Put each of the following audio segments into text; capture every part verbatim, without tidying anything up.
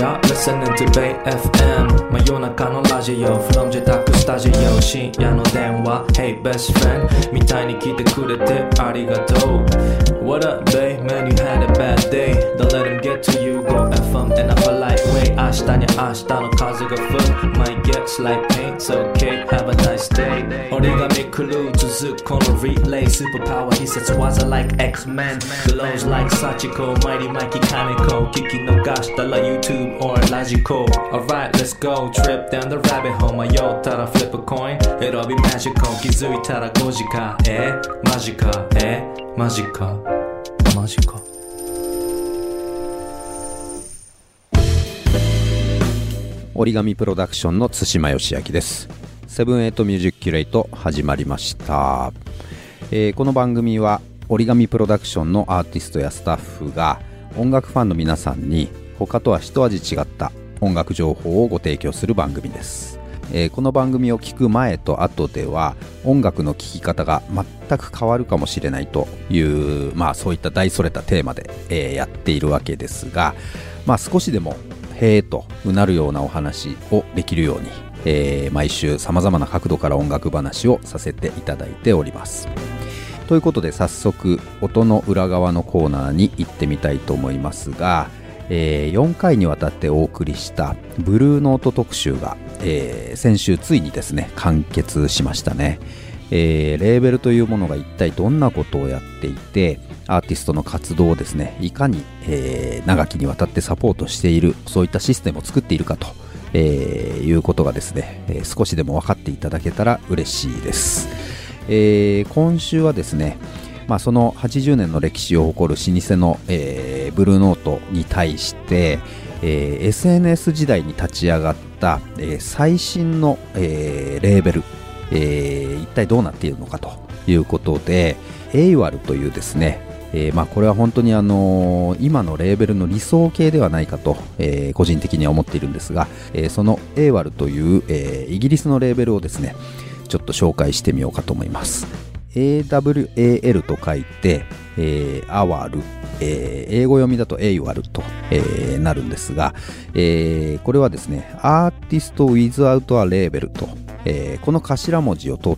You're listening to Bay エフエム 真夜中のラジオ From 自宅スタジオ深夜の電話 Hey best friend みたいに来てくれてありがとう What up babe man you had a bad day Don't let him get to you Go エフエム in a polite way 明日に明日の風が吹く Might get slight pain It's okay Have a nice day 折り紙クルー続くこの relay Superpower 必殺技 like X-Men Glows like Sachiko Mighty Mikey Kaneko 聞き逃したら YouTube or ラジコ Alright let's go Trip down the rabbit hole 迷ったら flip a coin It'll be magical 気づいたらごじかえマジかえマジかマジか折り紙プロダクションの対馬義明です。セブンエイトミュージックキュレイト始まりました、えー、この番組は折り紙プロダクションのアーティストやスタッフが音楽ファンの皆さんに他とは一味違った音楽情報をご提供する番組です、えー、この番組を聞く前と後では音楽の聴き方が全く変わるかもしれないという、まあ、そういった大それたテーマで、えー、やっているわけですが、まあ、少しでもへーとうなるようなお話をできるように、えー、毎週さまざまな角度から音楽話をさせていただいております。ということで早速音の裏側のコーナーに行ってみたいと思いますが、えー、よんかいにわたってお送りしたブルーノート特集が、えー、先週ついにですね完結しましたね。えー、レーベルというものが一体どんなことをやっていてアーティストの活動をですねいかに、えー、長きにわたってサポートしているそういったシステムを作っているかと、えー、いうことがですね、えー、少しでも分かっていただけたら嬉しいです。えー、今週はですね、まあ、そのはちじゅうねんの歴史を誇る老舗の、えー、ブルーノートに対して、えー、エスエヌエス 時代に立ち上がった、えー、最新の、えー、レーベルえー、一体どうなっているのかということでエイワルというですね、えーまあ、これは本当にあのー、今のレーベルの理想形ではないかと、えー、個人的には思っているんですが、えー、そのエイワルという、えー、イギリスのレーベルをですねちょっと紹介してみようかと思います。 エーダブリューエーエル と書いて、えー、アワル、えー、英語読みだとエイワルと、えー、なるんですが、えー、これはですねアーティスト without a label とえー、この頭文字を取って、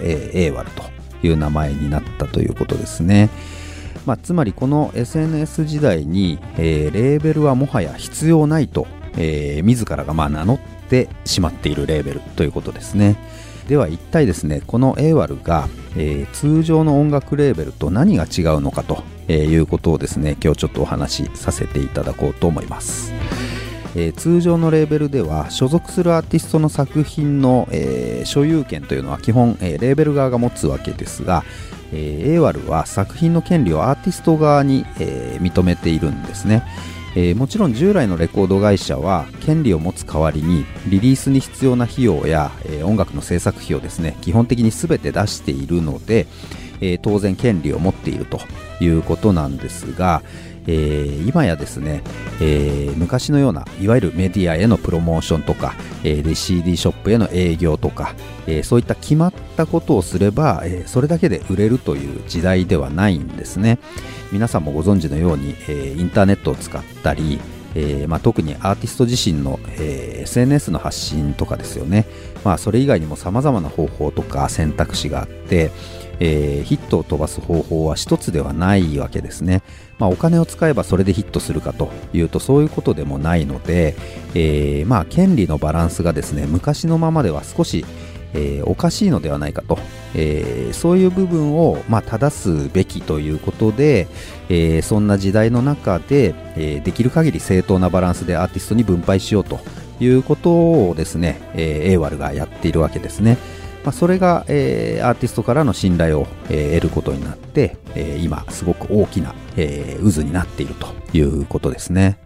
えー、エイワルという名前になったということですね。まあ、つまりこの エスエヌエス 時代に、えー、レーベルはもはや必要ないと、えー、自らがまあ名乗ってしまっているレーベルということですね。では一体ですねこのエイワルが、えー、通常の音楽レーベルと何が違うのかと、えー、いうことをですね今日ちょっとお話しさせていただこうと思います。えー、通常のレーベルでは所属するアーティストの作品の、えー、所有権というのは基本、えー、レーベル側が持つわけですが、えー、エイワルは作品の権利をアーティスト側に、えー、認めているんですね。えー、もちろん従来のレコード会社は権利を持つ代わりにリリースに必要な費用や、えー、音楽の制作費をですね基本的に全て出しているので、えー、当然権利を持っているということなんですが、えー、今やですね、えー、昔のようないわゆるメディアへのプロモーションとか、えー、で シーディー ショップへの営業とか、えー、そういった決まったことをすれば、えー、それだけで売れるという時代ではないんですね。皆さんもご存知のように、えー、インターネットを使ったり、えーまあ、特にアーティスト自身の、えー、エスエヌエス の発信とかですよね。まあ、それ以外にも様々な方法とか選択肢があって、えー、ヒットを飛ばす方法は一つではないわけですね。まあ、お金を使えばそれでヒットするかというとそういうことでもないので、えー、まあ権利のバランスがですね昔のままでは少し、えー、おかしいのではないかと、えー、そういう部分を、まあ、正すべきということで、えー、そんな時代の中で、えー、できる限り正当なバランスでアーティストに分配しようということをですね、えー、エイワルがやっているわけですね。まあ、それが、えー、アーティストからの信頼を、えー、得ることになって、えー、今すごく大きな、えー、渦になっているということですね。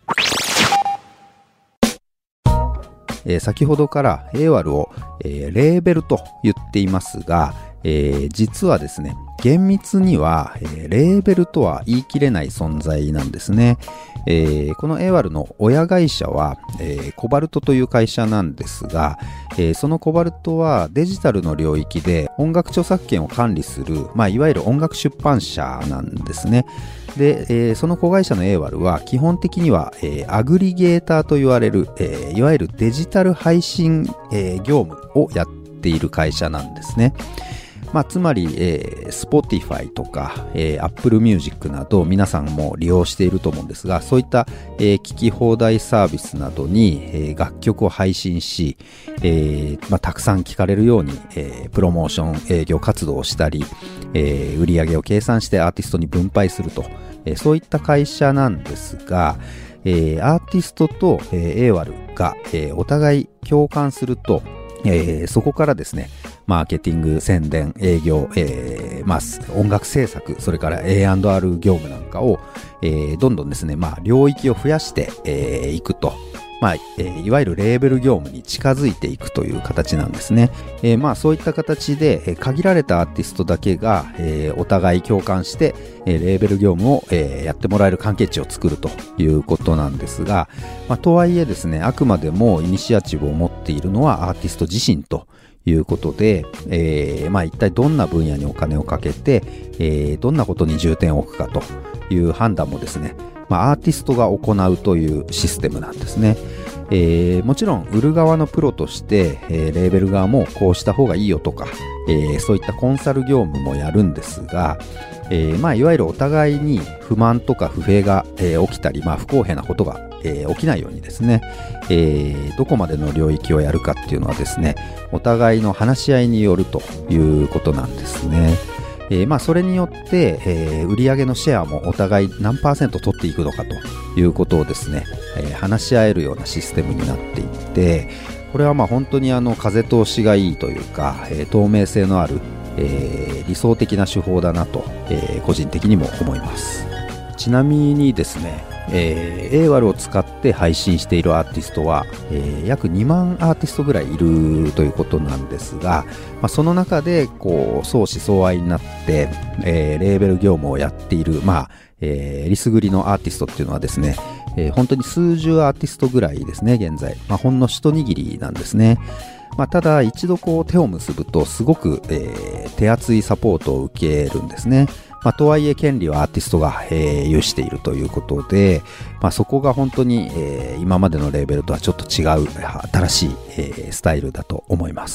えー、先ほどからエイワルを、えー、レーベルと言っていますが、えー、実はですね厳密には、えー、レーベルとは言い切れない存在なんですね。えー、このエイワルの親会社は、えー、コバルトという会社なんですが、えー、そのコバルトはデジタルの領域で音楽著作権を管理する、まあ、いわゆる音楽出版社なんですね。 で、えー、その子会社の エーワル は基本的には、えー、アグリゲーターと言われる、えー、いわゆるデジタル配信、えー、業務をやっている会社なんですね。まあ、つまり、えー、Spotify とか、えー、Apple Music など皆さんも利用していると思うんですが、そういった、えー、聞き放題サービスなどに、えー、楽曲を配信し、えーまあ、たくさん聴かれるように、えー、プロモーション営業活動をしたり、えー、売上を計算してアーティストに分配すると、えー、そういった会社なんですが、えー、アーティストと、えー、エーワル が、えー、お互い共感すると、えー、そこからですね、マーケティング、宣伝、営業、えーまあ、音楽制作、それから エーアンドアール 業務なんかを、えー、どんどんですね、まあ、領域を増やしてい、えー、くと、まあえー、いわゆるレーベル業務に近づいていくという形なんですね。えー、まあそういった形で、えー、限られたアーティストだけが、えー、お互い共感して、えー、レーベル業務を、えー、やってもらえる関係値を作るということなんですが、まあ、とはいえですね、あくまでもイニシアチブを持っているのはアーティスト自身ということで、えー、まあ一体どんな分野にお金をかけて、えー、どんなことに重点を置くかという判断もですね、まあ、アーティストが行うというシステムなんですね。えー、もちろん売る側のプロとして、えー、レーベル側もこうした方がいいよとか、えー、そういったコンサル業務もやるんですが、えーまあ、いわゆるお互いに不満とか不平が、えー、起きたり、まあ、不公平なことが、えー、起きないようにですね、えー、どこまでの領域をやるかっていうのはですね、お互いの話し合いによるということなんですね。えーまあ、それによって、えー、売上のシェアもお互い何パーセント取っていくのかということをですね、えー、話し合えるようなシステムになっていて、これはまあ本当にあの風通しがいいというか、えー、透明性のある、えー、理想的な手法だなと、えー、個人的にも思います。ちなみにですね、えー、エーワル を使って配信しているアーティストは、えー、約にまんアーティストぐらいいるということなんですが、まあ、その中でこう相思相愛になって、えー、レーベル業務をやっている、まあえー、リスグリのアーティストっていうのはですね、えー、本当に数十アーティストぐらいですね、現在、まあ、ほんの一握りなんですね。まあ、ただ一度こう手を結ぶとすごく、えー、手厚いサポートを受けるんですね。まあ、とはいえ権利はアーティストが、えー、有しているということで、まあ、そこが本当に、えー、今までのレーベルとはちょっと違う新しい、えー、スタイルだと思います。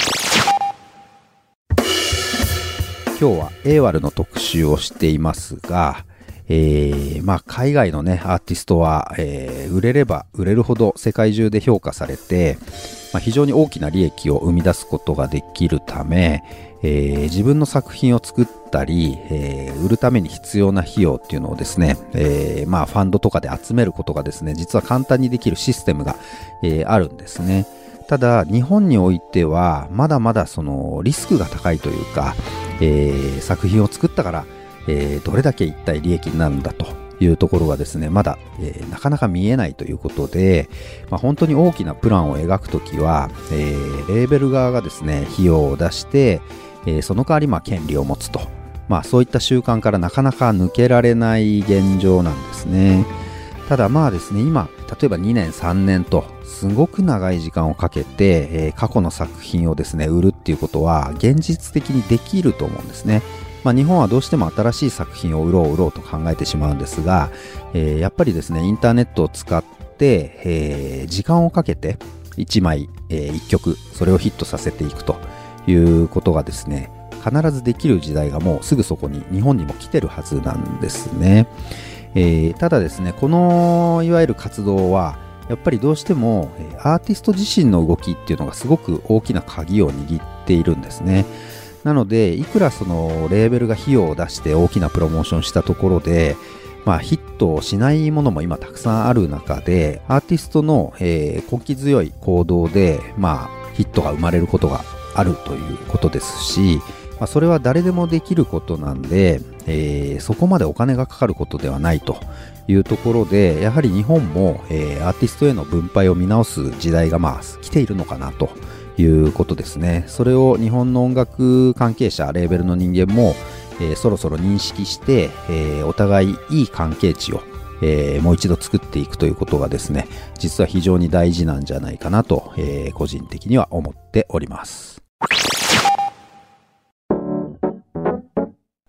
今日は エーワル の特集をしていますが、えーまあ、海外のねアーティストは、えー、売れれば売れるほど世界中で評価されて、まあ、非常に大きな利益を生み出すことができるため、えー、自分の作品を作ったり、えー、売るために必要な費用っていうのをですね、えーまあ、ファンドとかで集めることがですね、実は簡単にできるシステムが、えー、あるんですね。ただ日本においてはまだまだそのリスクが高いというか、えー、作品を作ったから、えー、どれだけ一体利益になるんだというところがですね、まだ、えー、なかなか見えないということで、まあ、本当に大きなプランを描くときは、えー、レーベル側がですね費用を出して、えー、その代わりまあ権利を持つと、まあ、そういった習慣からなかなか抜けられない現状なんですね。ただまあですね、今例えばにねんさんねんとすごく長い時間をかけて、えー、過去の作品をですね売るっていうことは現実的にできると思うんですね。まあ、日本はどうしても新しい作品を売ろう売ろうと考えてしまうんですが、えー、やっぱりですねインターネットを使って、えー、時間をかけていちまい、えー、いっきょくそれをヒットさせていくということがですね必ずできる時代がもうすぐそこに日本にも来てるはずなんですね。えー、ただですねこのいわゆる活動はやっぱりどうしてもアーティスト自身の動きっていうのがすごく大きな鍵を握っているんですね。なのでいくらそのレーベルが費用を出して大きなプロモーションしたところで、まあ、ヒットをしないものも今たくさんある中でアーティストの、えー、根気強い行動で、まあ、ヒットが生まれることがあるということですし、まあ、それは誰でもできることなんで、えー、そこまでお金がかかることではないというところでやはり日本も、えー、アーティストへの分配を見直す時代がまあ来ているのかなということですね。それを日本の音楽関係者レーベルの人間も、えー、そろそろ認識して、えー、お互いいい関係値を、えー、もう一度作っていくということがですね実は非常に大事なんじゃないかなと、えー、個人的には思っております。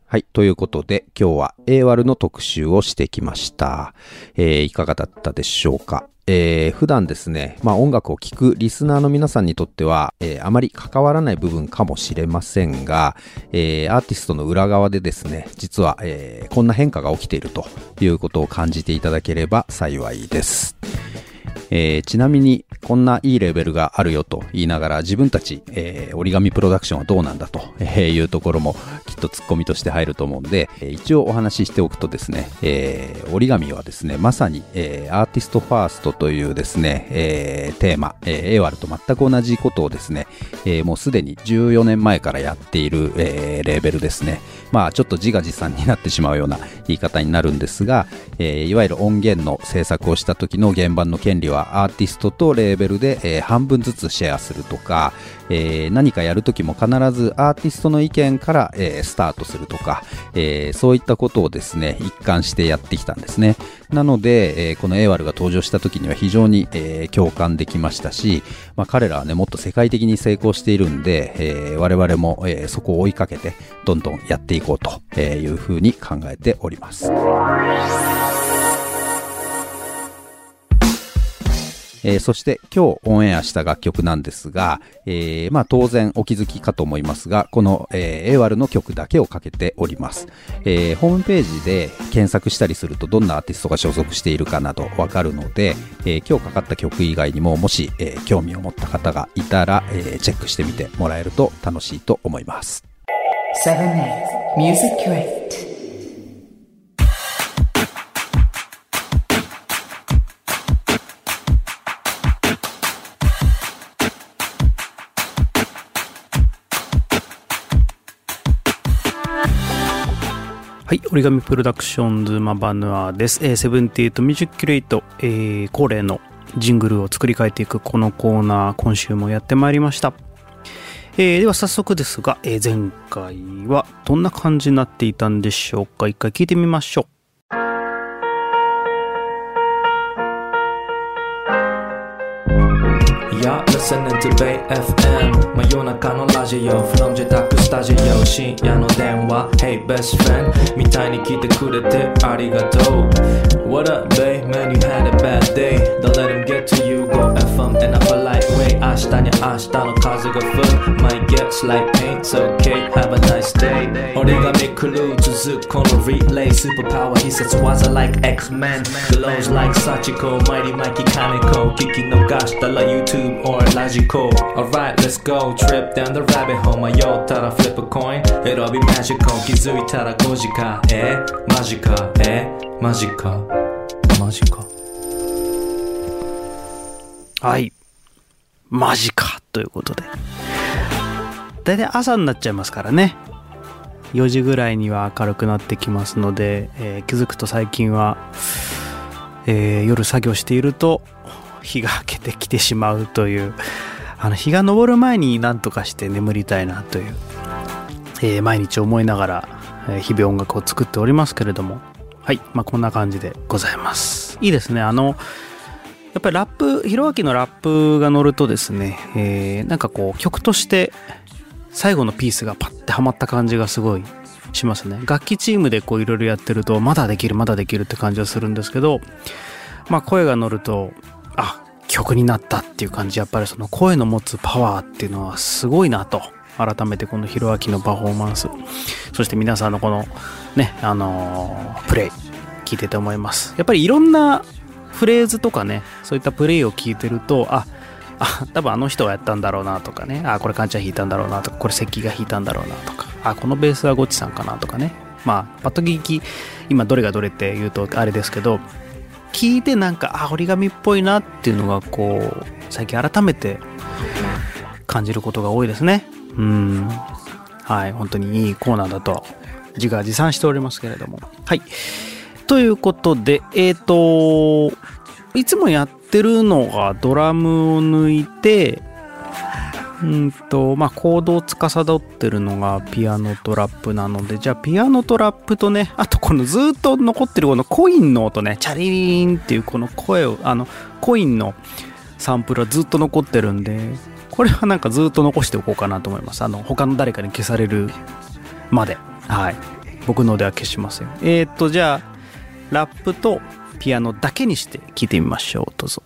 はい。ということで、今日は エーワーエル の特集をしてきました。えー、いかがだったでしょうか。えー、普段ですね、まあ音楽を聴くリスナーの皆さんにとっては、えー、あまり関わらない部分かもしれませんが、えー、アーティストの裏側でですね、実は、えー、こんな変化が起きているということを感じていただければ幸いです。えー、ちなみにこんないいレベルがあるよと言いながら自分たち、えー、折り紙プロダクションはどうなんだというところもきっとツッコミとして入ると思うんで、一応お話ししておくとですね、えー、折り紙はですねまさに、えー、アーティストファーストというですね、えー、テーマ、えー、エーワーエル と全く同じことをですね、えー、もうすでにじゅうよねんまえからやっている、えー、レーベルですね。まあちょっと自画自賛になってしまうような言い方になるんですが、えー、いわゆる音源の制作をした時の原版の権利はアーティストとレーベルで、えー、半分ずつシェアするとか、えー、何かやるときも必ずアーティストの意見から、えー、スタートするとか、えー、そういったことをですね一貫してやってきたんですね。なので、えー、この エーワーエル が登場したときには非常に、えー、共感できましたし、まあ、彼らはねもっと世界的に成功しているんで、えー、我々も、えー、そこを追いかけてどんどんやっていこうというふうに考えております。えー、そして今日オンエアした楽曲なんですが、えー、まあ当然お気づきかと思いますが、この、えー、エーワーエル の曲だけをかけております。えー、ホームページで検索したりするとどんなアーティストが所属しているかなどわかるので、えー、今日かかった曲以外にももし、えー、興味を持った方がいたら、えー、チェックしてみてもらえると楽しいと思います。 セブンエイト Music Crate。 はい、折り紙プロダクションズマバヌアです。えー、セブンティーエイトミュージックキュレイト、えー、恒例のジングルを作り変えていくこのコーナー、今週もやってまいりました。えー、では早速ですが、えー、前回はどんな感じになっていたんでしょうか。一回聞いてみましょう。 You're listening to Bay エフエム 真夜中のラジオ From 自宅スタジオ深夜の電話 Hey best friend みたいに来てくれてありがとう What up babe man you had a bad day Don't let him get to you Go エフエム in a polite way 明日に明日の風が吹く Might get slight pain It's okay have a nice day 折り紙クルー続くこのリレー Superpower 必殺技 like X-Men Glows like Sachiko Mighty Mikey Kaneko 聞き逃したら YouTube or Logical Alright let's go Trip down the rabbit hole 迷ったら flip a coin It'll be magical 気づいたらごじかえマジかえマジかマジかはいマジかということで、だいたい朝になっちゃいますからね。よじぐらいには明るくなってきますので、えー、気づくと最近は、えー、夜作業していると日が明けてきてしまうという、あの日が昇る前に何とかして眠りたいなという、えー、毎日思いながら、えー、日々音楽を作っておりますけれども、はい、まあこんな感じでございます。いいですね。あのやっぱりラップ、ひろあきのラップが乗るとですね、えー、なんかこう曲として最後のピースがパッてはまった感じがすごいしますね。楽器チームでこういろいろやってるとまだできるまだできるって感じがするんですけど、まあ声が乗るとあ曲になったっていう感じ。やっぱりその声の持つパワーっていうのはすごいなと改めてこのひろあきのパフォーマンス、そして皆さんのこのねあのー、プレイ聞いてて思います。やっぱりいろんなフレーズとかね、そういったプレイを聞いてると、ああ多分あの人がやったんだろうなとかね、あこれカンちゃん弾いたんだろうなとか、これ関が弾いたんだろうなとか、あこのベースはゴッチさんかなとかね、まあパッと聞き今どれがどれって言うとあれですけど、聞いてなんかあ折り紙っぽいなっていうのがこう最近改めて感じることが多いですね。うんはい本当にいいコーナーだと自画自賛しておりますけれども、はいということで、えっといつもやってるのがドラムを抜いて、うんとまあコードを司ってるのがピアノとラップなので、じゃあピアノとラップとね、あとこのずっと残ってるこのコインの音ね、チャリリーンっていうこの声を、あのコインのサンプルはずっと残ってるんで、これはなんかずっと残しておこうかなと思います。あの他の誰かに消されるまで、はい僕のでは消しません。えーとじゃあラップとピアノだけにして聴いてみましょう。どうぞ。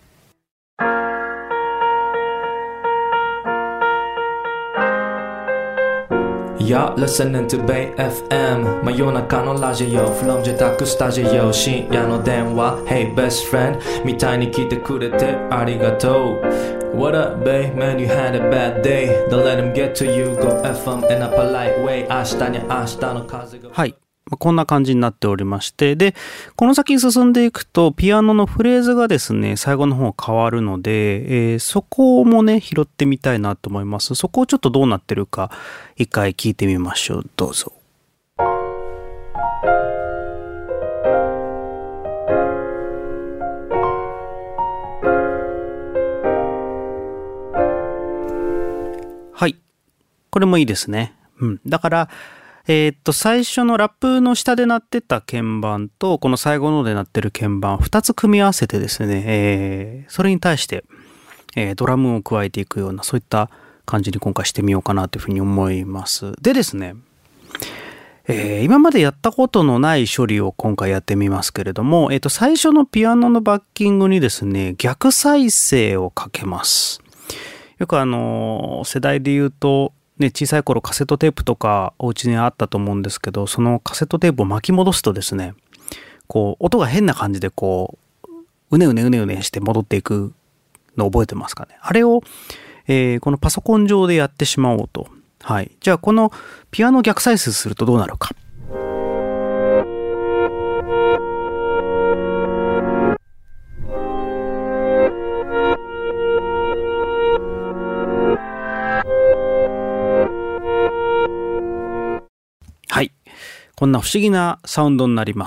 You're listening to Bay エフエム 真夜中のラジオ From 自宅スタジオ深夜の電話 Hey best friend みたいに来てくれてありがとう What up Bay man you had a bad day Don't let him get to you Go エフエム in a polite way 明日に明日の風がはいこんな感じになっておりまして、でこの先進んでいくとピアノのフレーズがですね最後の方変わるので、えー、そこもね拾ってみたいなと思います。そこをちょっとどうなってるか一回聞いてみましょう。どうぞ。はい、これもいいですね。うん、だからえー、っと最初のラップの下で鳴ってた鍵盤とこの最後ので鳴ってる鍵盤ふたつ組み合わせてですね、えー、それに対して、えー、ドラムを加えていくようなそういった感じに今回してみようかなというふうに思います。でですね、えー、今までやったことのない処理を今回やってみますけれども、えー、っと最初のピアノのバッキングにですね逆再生をかけます。よくあの世代で言うとね、小さい頃カセットテープとかお家にあったと思うんですけど、そのカセットテープを巻き戻すとですねこう音が変な感じでこううねうねうねうねして戻っていくの覚えてますかね。あれを、えー、このパソコン上でやってしまおうと。はい、じゃあこのピアノ逆再生するとどうなるか。こんな不思議なサウンドになります。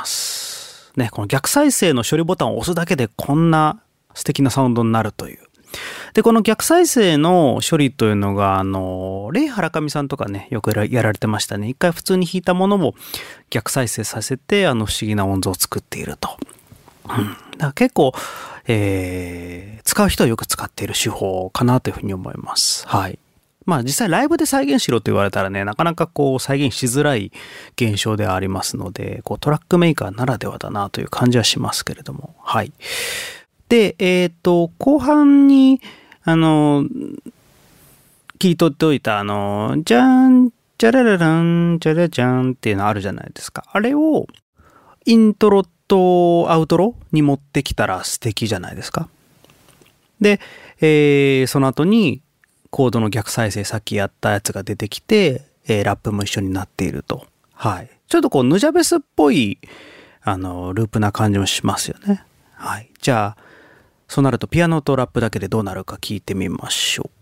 ね、この逆再生の処理ボタンを押すだけでこんな素敵なサウンドになるという。で、この逆再生の処理というのが、あの、レイ・ハラカミさんとかね、よくやられてましたね。一回普通に弾いたものを逆再生させて、あの不思議な音像を作っていると。うん、だから結構、えー、使う人はよく使っている手法かなというふうに思います。はい。まあ実際ライブで再現しろと言われたらね、なかなかこう再現しづらい現象ではありますので、こうトラックメーカーならではだなという感じはしますけれども、はい。で、えっと、後半に、あの、切り取っておいた、あの、じゃーん、じゃらららん、じゃらじゃんっていうのあるじゃないですか。あれをイントロとアウトロに持ってきたら素敵じゃないですか。で、えー、その後に、コードの逆再生さっきやったやつが出てきて、えー、ラップも一緒になっていると。はい。ちょっとこうヌジャベスっぽいあのループな感じもしますよね。はい。じゃあそうなるとピアノとラップだけでどうなるか聞いてみましょう。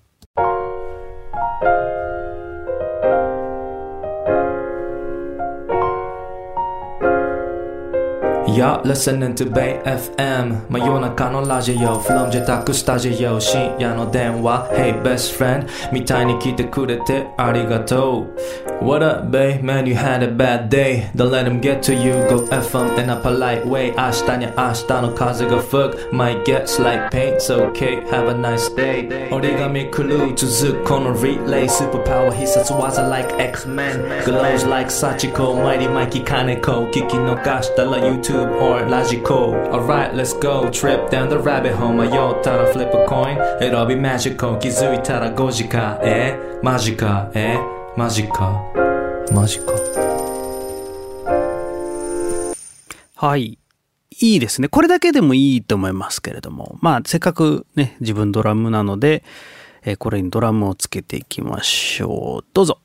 You're listening to Bay エフエム 真夜中のラジオ From 自宅スタジオ深夜の電話 Hey best friend みたいに来てくれてありがとう What up Bay man you had a bad day Don't let him get to you Go エフエム in a polite way 明日に明日の風が吹く Might get slight pain It's okay Have a nice day 折り紙狂う続くこの relay Superpower 必殺技 like X-Men Glows like Sachiko Mighty Mikey Kaneko 聞き逃したら YouTube or Logical Alright, let's go Trip down the rabbit hole 迷ったら flip a coin It'll be magical 気づいたらごじかえマジかえマジかマジかはい。いいですね。これだけでもいいと思いますけれども、まあせっかくね自分ドラムなので、えー、これにドラムをつけていきましょう。どうぞ。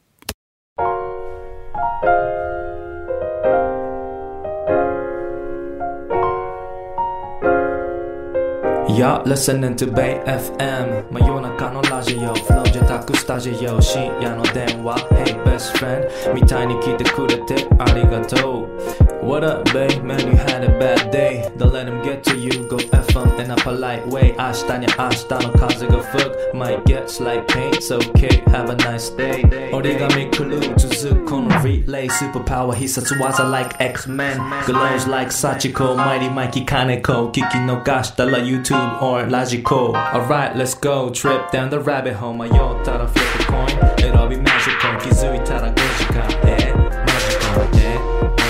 You're listening to Bay エフエム 真夜中のラジオ From 自宅スタジオ深夜の電話 Hey best friend みたいに来てくれてありがとう What up babe man you had a bad day Don't let him get to you Go エフエム in a polite way 明日に明日の風が吹く Might get slight pain It's okay Have a nice day 折り紙狂う続くこの relay Superpower 必殺技 like X-Men Glows like Sachiko Mighty Mikey Kaneko 聞き逃したら YouTube or Logical Alright, let's go Trip down the rabbit hole 迷ったら flip a coin It'll be magical 気づいたらごじかえマジかえ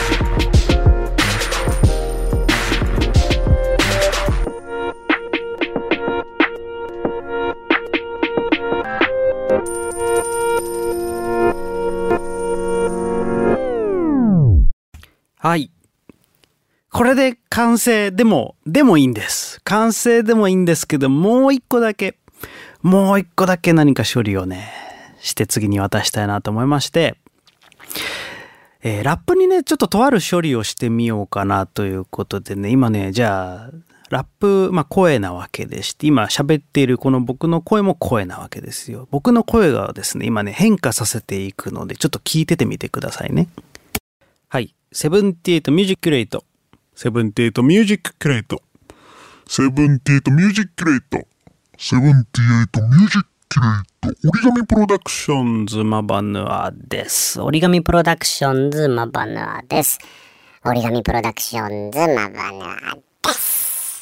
はい。これで完成でも、でもいいんです。完成でもいいんですけど、もう一個だけ、もう一個だけ何か処理をね、して次に渡したいなと思いまして、えー、ラップにね、ちょっととある処理をしてみようかなということでね、今ね、じゃあ、ラップ、まあ声なわけでして、今喋っているこの僕の声も声なわけですよ。僕の声がですね、今ね、変化させていくので、ちょっと聞いててみてくださいね。はい。セブンティエイトミュージックレイト。セブンティエイトミュージッククレイト。 セブンティエイトミュージックレイト。セブンティエイトミュージックレイト。折り紙プロダクションズマバヌアです。 折り紙プロダクションズマバヌアです。折り紙プロダクションズマバヌアです。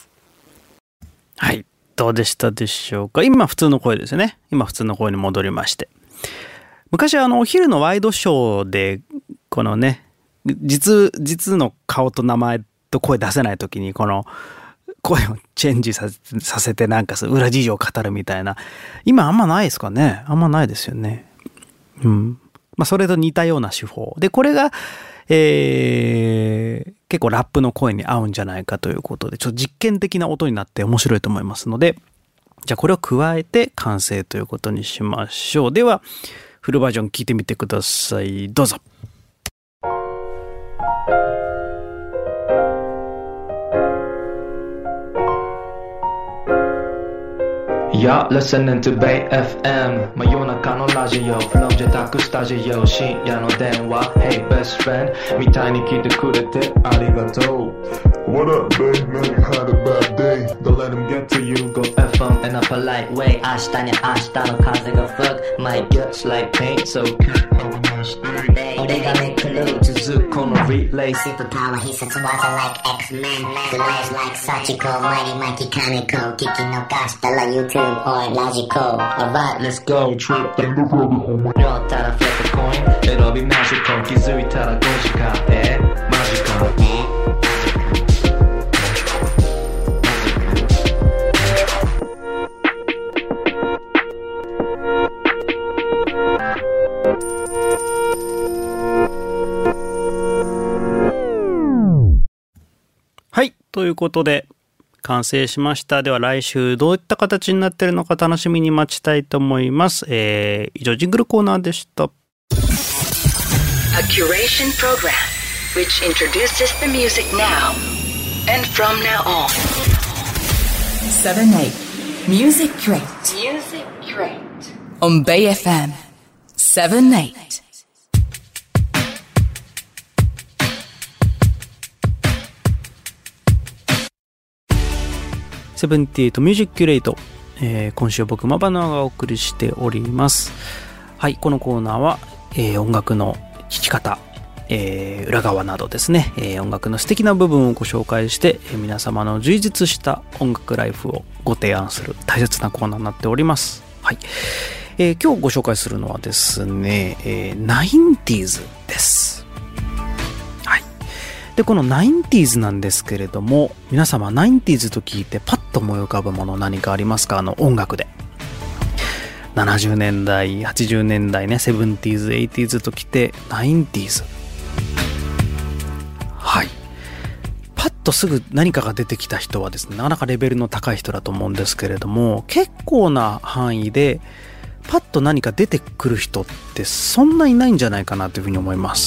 はい。どうでしたでしょうか。今普通の声ですよね。今普通の声に戻りまして。昔あのお昼のワイドショーでこのね、実、実の顔と名前と声出せない時にこの声をチェンジさせ、させてなんか裏事情を語るみたいな。今あんまないですかね。あんまないですよね。うん。まあそれと似たような手法。で、これが、えー、結構ラップの声に合うんじゃないかということで、ちょっと実験的な音になって面白いと思いますので、じゃあこれを加えて完成ということにしましょう。では、フルバージョン聞いてみてください。どうぞ。 You're listening to Bay エフエム 真夜中のラジオ From 自宅スタジオ深夜の電話 Hey best friend みたいに聞いてくれてありがとう What up, babe? Man, you had a bad day. Don't let them get to you. Go F M in a polite way 明日に明日の風が吹く My guts like paint So have a nice day 折り紙クルー続くこのリレー Superpower 必殺技 like X-Men Delay like Sachiko Mighty Mikey Kaneko 聞き逃したら YouTube or Logical Alright, let's go Trip in the rabbit hole. 拾ったら flip a coin 選びましょう気づいたらごじかんえマジかねはい。ということで、完成しました。では来週どういった形になっているのか楽しみに待ちたいと思います。えー、以上、ジングルコーナーでした。 A curation program which introduces the music now and from now on. seven eight Music Crate. Music Crate. On Bay エフエム seven eight. セブンティエイトミュージックキュレート、えー、今週僕マバナがお送りしております。はい、このコーナーは、えー、音楽の聴き方、えー、裏側などですね、えー、音楽の素敵な部分をご紹介して、えー、皆様の充実した音楽ライフをご提案する大切なコーナーになっております。はい、えー、今日ご紹介するのはですね、えー、ナインティーズです。で、このナインティーズなんですけれども、皆様ナインティーズと聞いてパッと思い浮かぶもの何かありますか？あの音楽で。ななじゅうねんだい、はちじゅうねんだいね、セブンティーズ、エイティーズと来て、ナインティーズ。はい。パッとすぐ何かが出てきた人はですね、なかなかレベルの高い人だと思うんですけれども、結構な範囲で、パッと何か出てくる人ってそんないないんじゃないかなというふうに思います。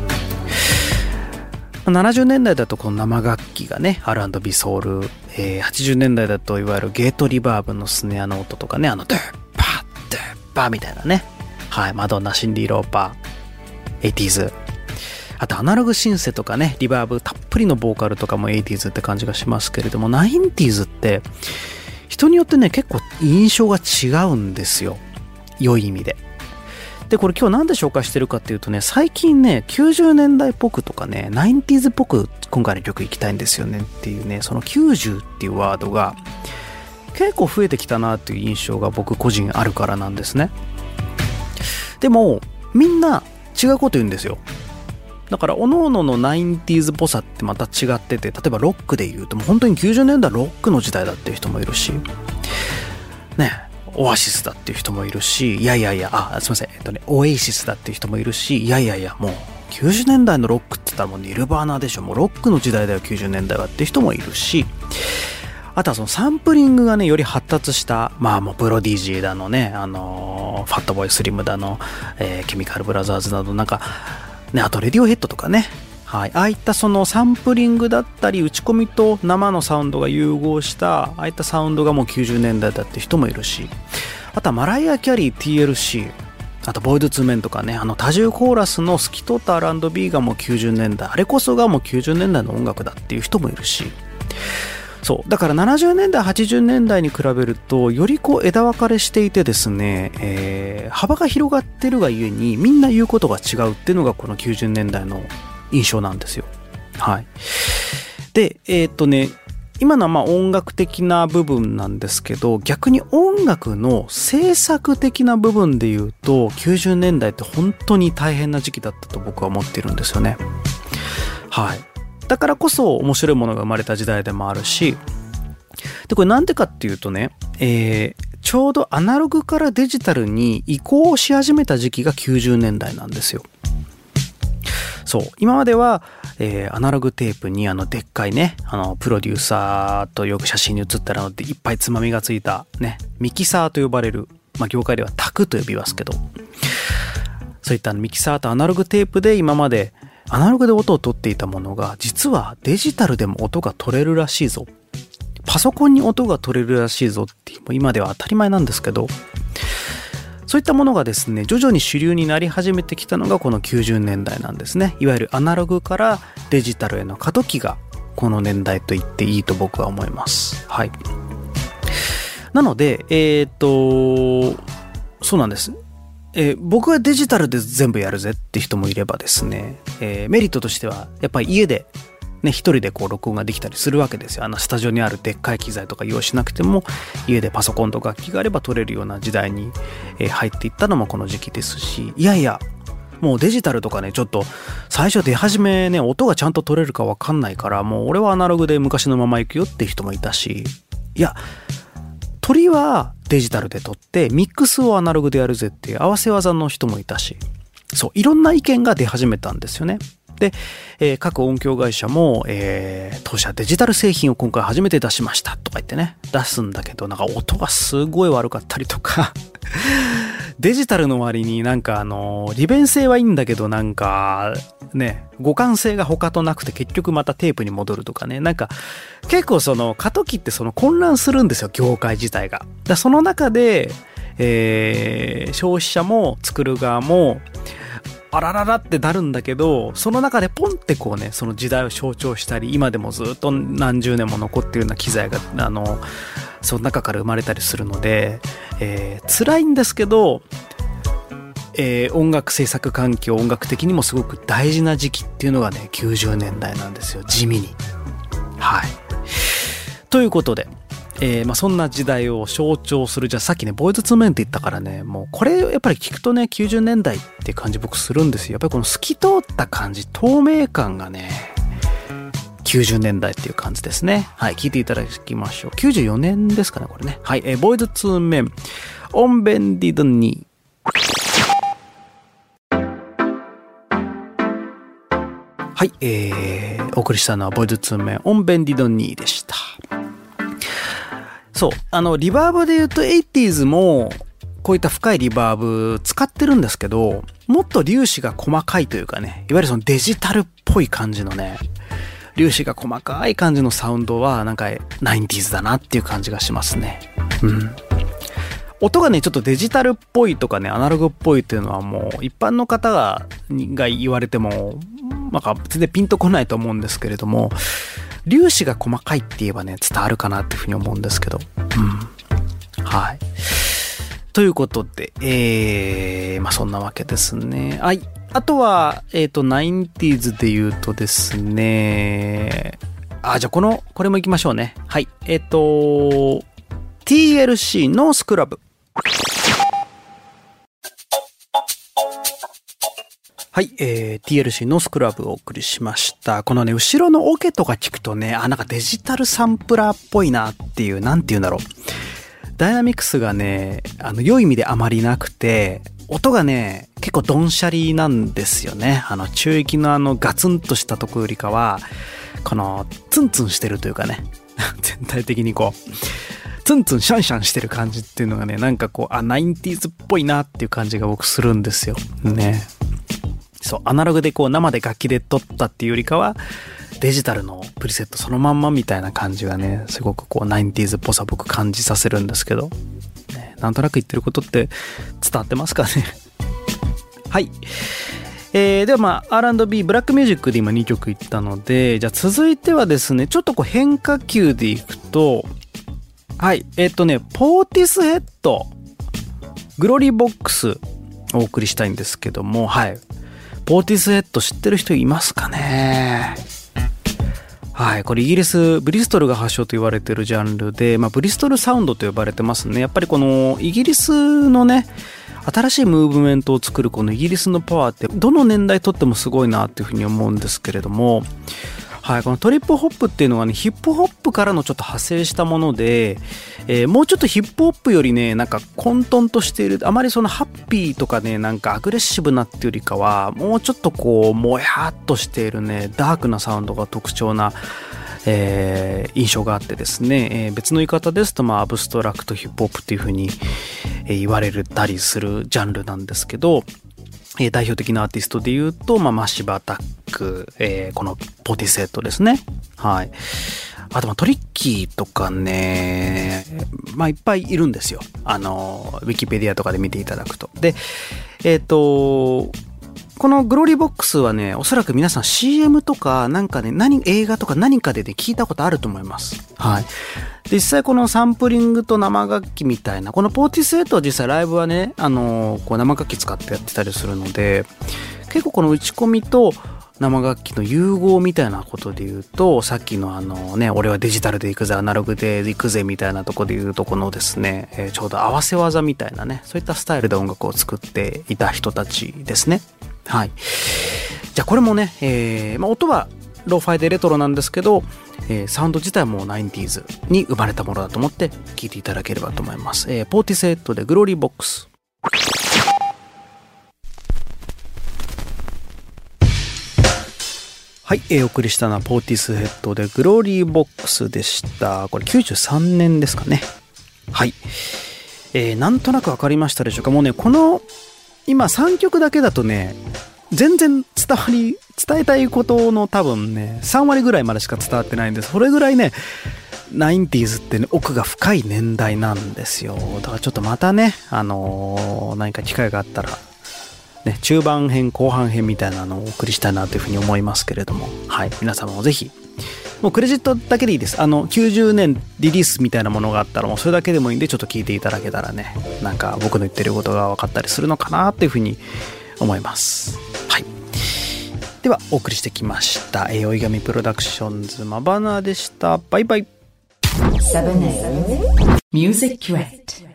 ななじゅうねんだいだとこの生楽器がね アールアンドビー ソウル、えー、はちじゅうねんだいだといわゆるゲートリバーブのスネアの音とかね、あのドゥッパードゥッパーみたいなね、はい、マドンナ、シンディ・ローパー、エイティーズ、あとアナログシンセとかね、リバーブたっぷりのボーカルとかもエイティーズって感じがしますけれども、ナインティーズって人によってね結構印象が違うんですよ、良い意味で。で、これ今日なんで紹介してるかっていうとね、最近ね、きゅうじゅうねんだいっぽくとかね、ナインティーズっぽく今回の曲行きたいんですよねっていうね、そのきゅうじゅうっていうワードが結構増えてきたなっていう印象が僕個人あるからなんですね。でも、みんな違うこと言うんですよ。だから、各々のナインティーズっぽさってまた違ってて、例えばロックで言うと、もう本当にきゅうじゅうねんだいロックの時代だっていう人もいるし、ね、オアシスだっていう人もいるし、いやいやいや、あ、すいません、えっとね、オエイシスだっていう人もいるし、いやいやいや、もうきゅうじゅうねんだいのロックって言ったらもうニルバーナでしょ、もうロックの時代だよきゅうじゅうねんだいはっていう人もいるし、あとはそのサンプリングがねより発達した、まあもうプロディジーだのね、あのー、ファットボーイスリムだの、えー、ケミカルブラザーズなどなんかね、あとレディオヘッドとかね、はい、ああいったそのサンプリングだったり打ち込みと生のサウンドが融合したああいったサウンドがもうきゅうじゅうねんだいだって人もいるし、あとはマライア・キャリー ティーエルシー、 あとボイドツーメンとかね、あの多重コーラスの透き通った アールアンドビー がもうきゅうじゅうねんだい、あれこそがもうきゅうじゅうねんだいの音楽だっていう人もいるし、そうだからななじゅうねんだいはちじゅうねんだいに比べるとよりこう枝分かれしていてですね、えー、幅が広がってるがゆえにみんな言うことが違うっていうのがこのきゅうじゅうねんだいの印象なんですよ。はい。で、えーっとね、今のはまあ音楽的な部分なんですけど、逆に音楽の制作的な部分で言うと、きゅうじゅうねんだいって本当に大変な時期だったと僕は思っているんですよね。はい。だからこそ面白いものが生まれた時代でもあるし、で、これなんでかっていうとね、えー、ちょうどアナログからデジタルに移行し始めた時期がきゅうじゅうねんだいなんですよ。そう今までは、えー、アナログテープにあのでっかいね、あのプロデューサーとよく写真に写ったのでいっぱいつまみがついたね、ミキサーと呼ばれる、まあ、業界ではタクと呼びますけど、そういったミキサーとアナログテープで今までアナログで音を取っていたものが実はデジタルでも音が取れるらしいぞ、パソコンに音が取れるらしいぞっていう今では当たり前なんですけど、そういったものがですね徐々に主流になり始めてきたのがこのきゅうじゅうねんだいなんですね。いわゆるアナログからデジタルへの過渡期がこの年代と言っていいと僕は思います。はい。なのでえー、っとそうなんです、えー、僕はデジタルで全部やるぜって人もいればですね、えー、メリットとしてはやっぱり家でね、一人でこう録音ができたりするわけですよ。あのスタジオにあるでっかい機材とか用意しなくても家でパソコンと楽器があれば撮れるような時代に入っていったのもこの時期ですし、いやいやもうデジタルとかねちょっと最初出始めね音がちゃんと撮れるか分かんないからもう俺はアナログで昔のまま行くよって人もいたし、いや撮りはデジタルで撮ってミックスをアナログでやるぜっていう合わせ技の人もいたし、そういろんな意見が出始めたんですよね。で、えー、各音響会社も、えー、当社デジタル製品を今回初めて出しましたとか言ってね出すんだけど、なんか音がすごい悪かったりとかデジタルの割になんかあの利便性はいいんだけどなんかね互換性が他となくて結局またテープに戻るとかね、なんか結構その過渡期ってその混乱するんですよ業界自体が。だその中で、えー、消費者も作る側もあらららってなるんだけど、その中でポンってこうねその時代を象徴したり今でもずっと何十年も残っているような機材があのその中から生まれたりするので、えー、辛いんですけど、えー、音楽制作環境音楽的にもすごく大事な時期っていうのがねきゅうじゅうねんだいなんですよ、地味に。はい。ということでえーまあ、そんな時代を象徴する、じゃあさっきねボーイズツーメンって言ったからね、もうこれやっぱり聞くとねきゅうじゅうねんだいって感じ僕するんですよ。やっぱりこの透き通った感じ透明感がねきゅうじゅうねんだいっていう感じですね。はい、聞いていただきましょう。きゅうじゅうよねんですかねこれね。はい、えー、ボーイズツーメンオンベンディドニー。はい、えー、お送りしたのはボーイズツーメンオンベンディドニーでした。そうあのリバーブで言うとエイティーズもこういった深いリバーブ使ってるんですけど、もっと粒子が細かいというかね、いわゆるそのデジタルっぽい感じのね粒子が細かい感じのサウンドはなんかナインティーズだなっていう感じがしますね。うん音がねちょっとデジタルっぽいとかねアナログっぽいっていうのはもう一般の方がが言われてもなんか全然ピンとこないと思うんですけれども、粒子が細かいって言えばね伝わるかなっていうふうに思うんですけど、うん、はい。ということで、えー、まあそんなわけですね。はい。あとはえっとナインティーズで言うとですね、あじゃあこのこれも行きましょうね。はい。えっと ティーエルシー のスクラブ。はい、えー、ティーエルシー のスクラブをお送りしました。このね、後ろのオケとか聞くとね、あ、なんかデジタルサンプラーっぽいなっていう、なんていうんだろう。ダイナミクスがね、あの、良い意味であまりなくて、 音がね、結構ドンシャリなんですよね。あの、中域のあの、ガツンとしたとこよりかは、この、ツンツンしてるというかね、全体的にこう、ツンツンシャンシャンしてる感じっていうのがね、なんかこう、あ、ナインティーズっぽいなっていう感じが僕するんですよ。ね。そう、アナログでこう、生で楽器で撮ったっていうよりかは、デジタルのプリセットそのまんまみたいな感じがね、すごくこう、ナインティーズっぽさ僕感じさせるんですけど、ね、なんとなく言ってることって伝わってますかね。はい。えー、ではまあ アールアンドビー ブラックミュージックで今にきょくいったので、じゃあ続いてはですね、ちょっとこう変化球でいくと、はい、えっとね、ポーティスヘッド、グロリーボックスお送りしたいんですけども、はい。ポーティスヘッド知ってる人いますかね？はい、これイギリス、ブリストルが発祥と言われているジャンルで、まあブリストルサウンドと呼ばれてますね。やっぱりこのイギリスのね、新しいムーブメントを作るこのイギリスのパワーってどの年代とってもすごいなっていうふうに思うんですけれども、はい、このトリップホップっていうのはね、ヒップホップからのちょっと派生したもので、えー、もうちょっとヒップホップよりね、なんか混沌としている、あまりそのハッピーとかね、なんかアグレッシブなっていうよりかは、もうちょっとこうもやっとしているね、ダークなサウンドが特徴なえー、印象があってですね、えー、別の言い方ですと、まあ、アブストラクトヒップホップっていう風に、えー、言われたりするジャンルなんですけど、えー、代表的なアーティストで言うと、まあ、マッシブアタック、えー、このポーティセットですね。はい。あと、まあ、トリッキーとかね、まあ、いっぱいいるんですよ。あの、ウィキペディアとかで見ていただくと。で、えっと、このグローリーボックスはね、おそらく皆さん シーエム とかなんかね、何、映画とか何かでね、聞いたことあると思います。はい。実際このサンプリングと生楽器みたいな、このポーティスエイトは実際ライブはね、あのー、こう生楽器使ってやってたりするので、結構この打ち込みと生楽器の融合みたいなことで言うと、さっきのあのね、俺はデジタルで行くぜ、アナログで行くぜみたいなとこで言うと、このですね、えー、ちょうど合わせ技みたいなね、そういったスタイルで音楽を作っていた人たちですね。はい。じゃあこれもね、えーまあ、音はローファイでレトロなんですけど、えー、サウンド自体もナインティーズに生まれたものだと思って聴いていただければと思います。えー、ポーティセットでグローリーボックス。はい、えー、お送りしたのはポーティスヘッドでグローリーボックスでした。これきゅうじゅうさんねんですかね。はい。えー、なんとなくわかりましたでしょうか。もうね、この今さんきょくだけだとね、全然伝わり、伝えたいことの多分ね、さんわりぐらいまでしか伝わってないんです。それぐらいね、ナインティーズってね、奥が深い年代なんですよ。だからちょっとまたね、あのー、何か機会があったら、ね、中盤編、後半編みたいなのをお送りしたいなというふうに思いますけれども、はい、皆様もぜひ、もうクレジットだけでいいです。あの、きゅうじゅうねんリリースみたいなものがあったら、もうそれだけでもいいんで、ちょっと聞いていただけたらね、なんか僕の言ってることが分かったりするのかなっていうふうに思います。はい。では、お送りしてきました。えー、おいがみプロダクションズマバナでした。バイバイ。セブンエイト Music Crate